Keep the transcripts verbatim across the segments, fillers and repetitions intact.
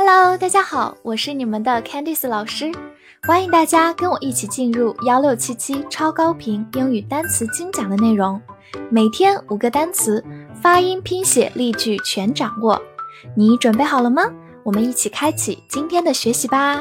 Hello， 大家好，我是你们的 Candice 老师，欢迎大家跟我一起进入一六七七超高频英语单词精讲的内容，每天五个单词，发音、拼写、例句全掌握。你准备好了吗？我们一起开启今天的学习吧。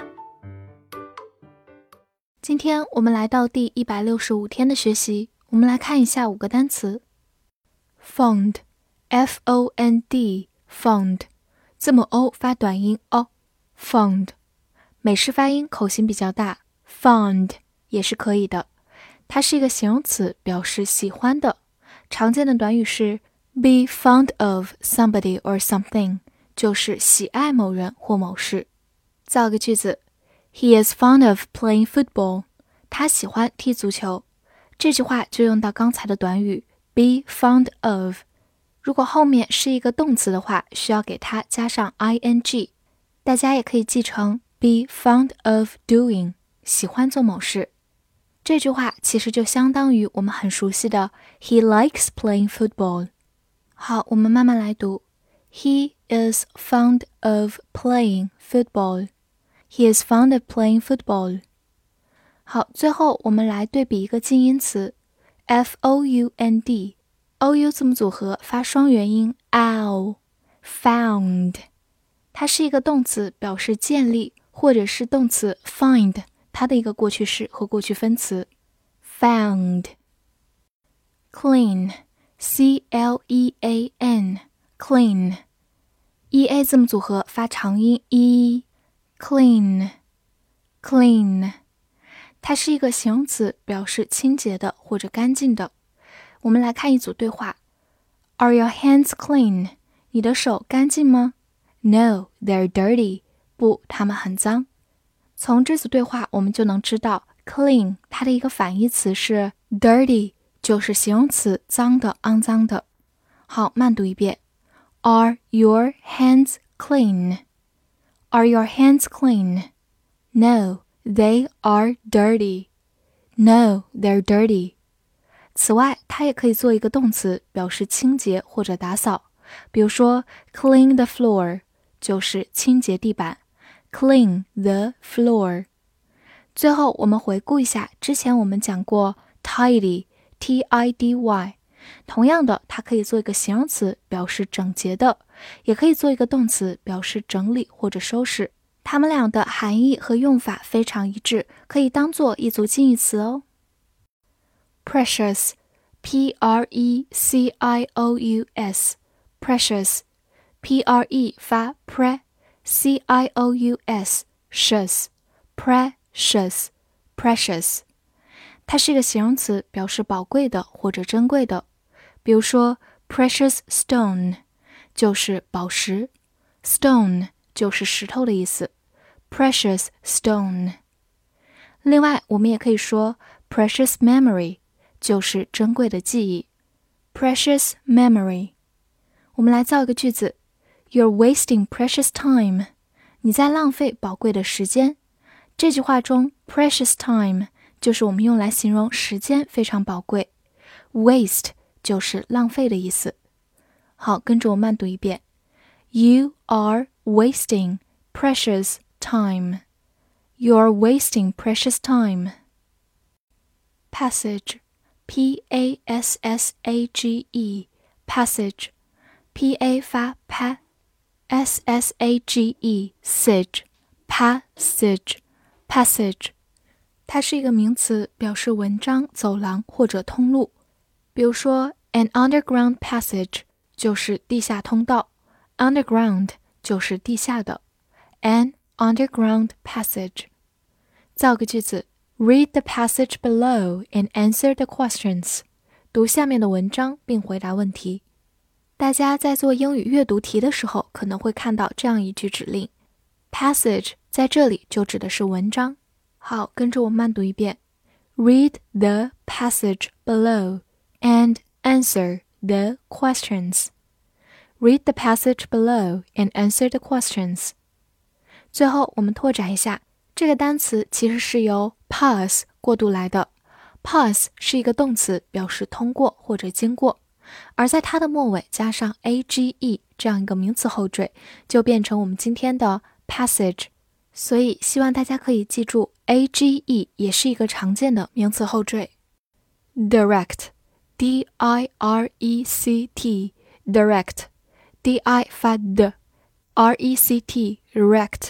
今天我们来到第一百六十五天的学习，我们来看一下五个单词。Fond F O N D Fond 字母 O 发短音 O Fond 美式发音口型比较大 Fond 也是可以的，它是一个形容词，表示喜欢的。常见的短语是 be fond of somebody or something， 就是喜爱某人或某事。造个句子， He is fond of playing football， 他喜欢踢足球。这句话就用到刚才的短语 be fond of， 如果后面是一个动词的话，需要给它加上 ing， 大家也可以记成 be fond of doing， 喜欢做某事。这句话其实就相当于我们很熟悉的 He likes playing football。 好，我们慢慢来读， He is fond of playing football。 He is fond of playing football。 好，最后我们来对比一个近音词 F O U N D， O U 字母组合发双元音 ow found， 它是一个动词，表示建立，或者是动词 find它的一个过去式和过去分词 found。 Clean C L E A N Clean E A 字母组合发长音 e Clean Clean， 它是一个形容词，表示清洁的或者干净的。我们来看一组对话。 Are your hands clean？ 你的手干净吗？ No, they're dirty。 不，它们很脏。从这组对话我们就能知道 clean 它的一个反义词是 dirty， 就是形容词，脏的、肮脏的。好，慢读一遍。 Are your hands clean？ Are your hands clean? No, they are dirty. No, they're dirty. 此外，它也可以做一个动词，表示清洁或者打扫。比如说 clean the floor 就是清洁地板， clean the floor。 最后我们回顾一下，之前我们讲过 tidy T I D Y， 同样的，它可以做一个形容词，表示整洁的，也可以做一个动词，表示整理或者收拾。它们俩的含义和用法非常一致，可以当做一组近义词哦。Precious P R E C I O U S Precious P R E 发 pre C I O U S Precious Precious Precious 它是一个形容词，表示宝贵的或者珍贵的。比如说 precious stone 就是宝石， stone 就是石头的意思， precious stone。 另外我们也可以说 precious memory 就是珍贵的记忆， precious memory。 我们来造一个句子， You're wasting precious time， 你在浪费宝贵的时间。这句话中 precious time 就是我们用来形容时间非常宝贵， waste 就是浪费的意思。好，跟着我慢读一遍， You are wasting precious time. You're wasting precious time. Passage P A S S A G E Passage P A 发 pa S S A G E Sage Passage Passage 它是一个名词，表示文章、走廊或者通路。比如说 an underground passage 就是地下通道， underground 就是地下的， an underground passage。 造个句子， Read the passage below and answer the questions。 读下面的文章并回答问题。大家在做英语阅读题的时候可能会看到这样一句指令， passage 在这里就指的是文章。好，跟着我慢读一遍， Read the passage below and answer the questions. Read the passage below and answer the questions. 最后我们拓展一下，这个单词其实是由 pass 过渡来的。 pass 是一个动词，表示通过或者经过，而在它的末尾加上 age 这样一个名词后缀，就变成我们今天的 passage。所以希望大家可以记住 A G E 也是一个常见的名词后缀。direct D I R E C T direct D I 发 d R E C T rect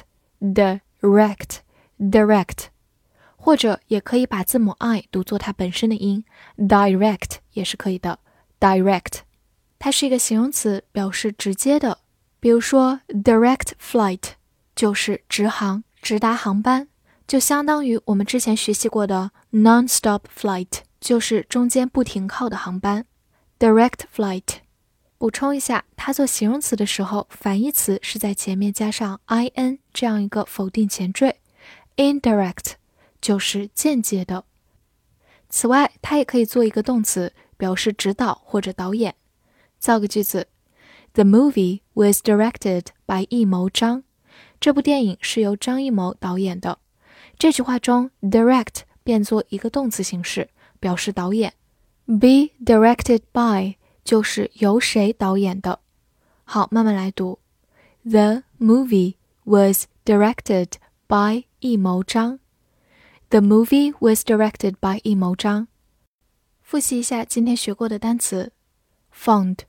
direct direct， 或者也可以把字母 I 读作它本身的音 direct 也是可以的 direct。 它是一个形容词，表示直接的，比如说 direct flight 就是直航直达航班，就相当于我们之前学习过的 non-stop flight， 就是中间不停靠的航班 direct flight。 补充一下，它做形容词的时候，反义词是在前面加上 in 这样一个否定前缀， indirect 就是间接的。此外，它也可以做一个动词，表示指导或者导演。造个句子， The movie was directed by 易谋张。这部电影是由张艺谋导演的。这句话中 direct 变作一个动词形式，表示导演。 Be directed by 就是由谁导演的。好，慢慢来读。 The movie was directed by 易谋张。 The movie was directed by 易谋张。复习一下今天学过的单词 fond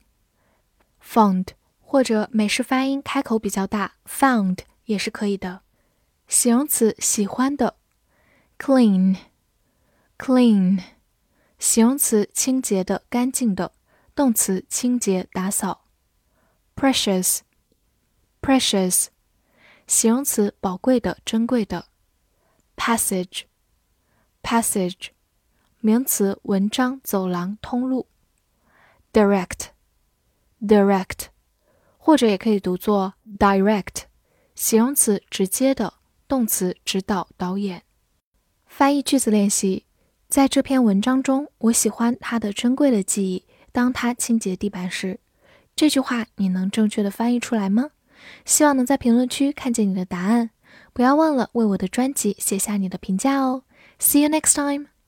fond， 或者美式发音开口比较大 found也是可以的。形容词喜欢的 clean clean， 形容词清洁的干净的，动词清洁打扫。 precious precious， 形容词宝贵的珍贵的。 passage passage， 名词文章走廊通路。 direct direct， 或者也可以读作 direct， 形容词直接的，动词指导导演。翻译句子练习，在这篇文章中，我喜欢它的珍贵的记忆，当它清洁地板时。这句话你能正确的翻译出来吗？希望能在评论区看见你的答案。不要忘了为我的专辑写下你的评价哦。See you next time!